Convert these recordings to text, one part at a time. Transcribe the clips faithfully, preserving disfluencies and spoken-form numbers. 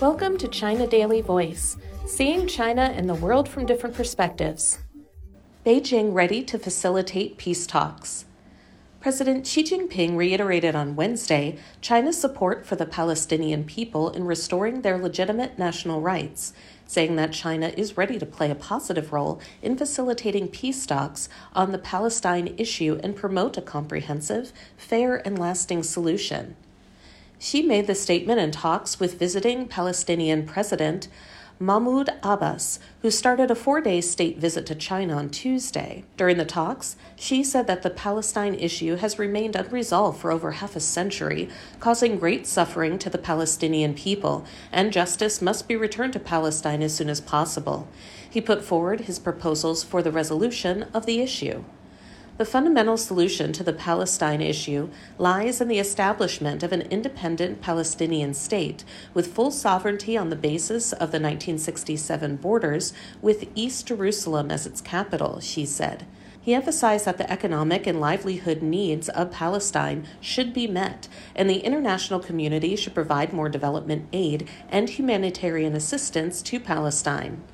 Welcome to China Daily Voice, seeing China and the world from different perspectives. Beijing ready to facilitate peace talks. President Xi Jinping reiterated on Wednesday China's support for the Palestinian people in restoring their legitimate national rights, saying that China is ready to play a positive role in facilitating peace talks on the Palestine issue and promote a comprehensive, fair, and lasting solution. Xi made the statement in talks with visiting Palestinian President Mahmoud Abbas, who started a four-day state visit to China on Tuesday. During the talks, Xi said that the Palestine issue has remained unresolved for over half a century, causing great suffering to the Palestinian people, and justice must be returned to Palestine as soon as possible. He put forward his proposals for the resolution of the issue. The fundamental solution to the Palestine issue lies in the establishment of an independent Palestinian state with full sovereignty on the basis of the nineteen sixty-seven borders with East Jerusalem as its capital, Xi said. He emphasized that the economic and livelihood needs of Palestine should be met, and the international community should provide more development aid and humanitarian assistance to Palestine.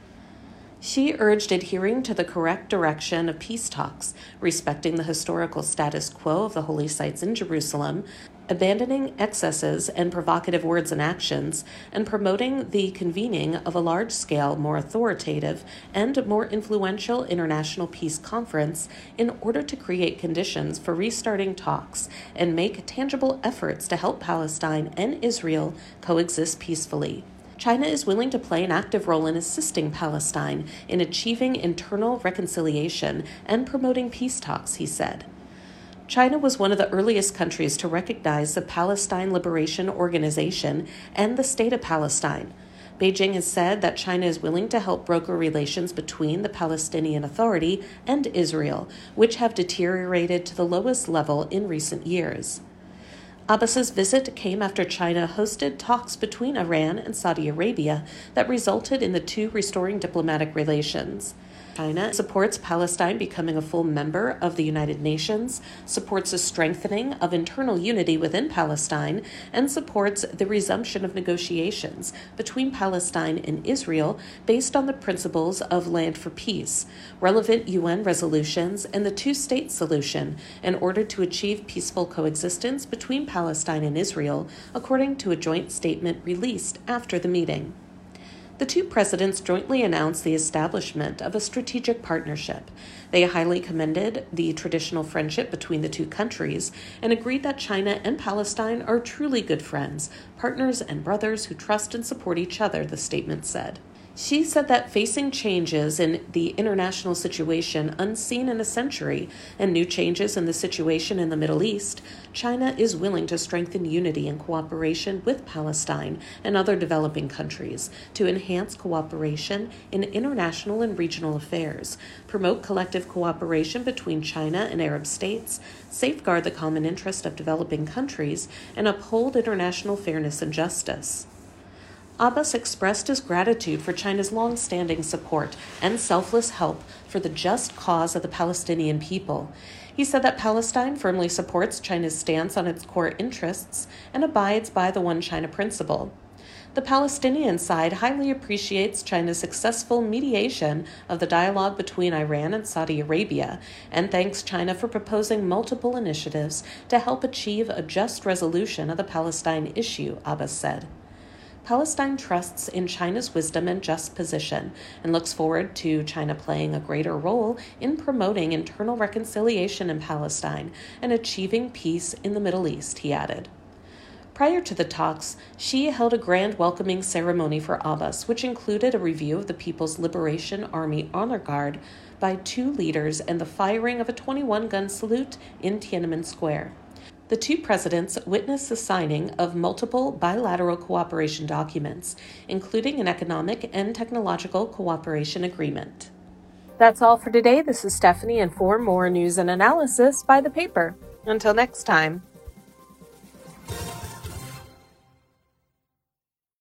Xi urged adhering to the correct direction of peace talks, respecting the historical status quo of the holy sites in Jerusalem, abandoning excesses and provocative words and actions, and promoting the convening of a large-scale, more authoritative, and more influential international peace conference in order to create conditions for restarting talks and make tangible efforts to help Palestine and Israel coexist peacefully. China is willing to play an active role in assisting Palestine in achieving internal reconciliation and promoting peace talks, he said. China was one of the earliest countries to recognize the Palestine Liberation Organization and the State of Palestine. Beijing has said that China is willing to help broker relations between the Palestinian Authority and Israel, which have deteriorated to the lowest level in recent years. Abbas's visit came after China hosted talks between Iran and Saudi Arabia that resulted in the two restoring diplomatic relations. China supports Palestine becoming a full member of the United Nations, supports a strengthening of internal unity within Palestine, and supports the resumption of negotiations between Palestine and Israel based on the principles of land for peace, relevant U N resolutions, and the two-state solution in order to achieve peaceful coexistence between Palestine and Israel, according to a joint statement released after the meeting. The two presidents jointly announced the establishment of a strategic partnership. They highly commended the traditional friendship between the two countries and agreed that China and Palestine are truly good friends, partners, and brothers who trust and support each other, the statement said. Xi said that facing changes in the international situation unseen in a century and new changes in the situation in the Middle East, China is willing to strengthen unity and cooperation with Palestine and other developing countries to enhance cooperation in international and regional affairs, promote collective cooperation between China and Arab states, safeguard the common interest of developing countries, and uphold international fairness and justice. Abbas expressed his gratitude for China's long-standing support and selfless help for the just cause of the Palestinian people. He said that Palestine firmly supports China's stance on its core interests and abides by the One China principle. The Palestinian side highly appreciates China's successful mediation of the dialogue between Iran and Saudi Arabia and thanks China for proposing multiple initiatives to help achieve a just resolution of the Palestine issue, Abbas said. Palestine trusts in China's wisdom and just position and looks forward to China playing a greater role in promoting internal reconciliation in Palestine and achieving peace in the Middle East, he added. Prior to the talks, Xi held a grand welcoming ceremony for Abbas, which included a review of the People's Liberation Army Honor Guard by two leaders and the firing of a twenty-one gun salute in Tiananmen Square. The two presidents witnessed the signing of multiple bilateral cooperation documents, including an economic and technological cooperation agreement. That's all for today. This is Stephanie, and for more news and analysis, by the paper. Until next time.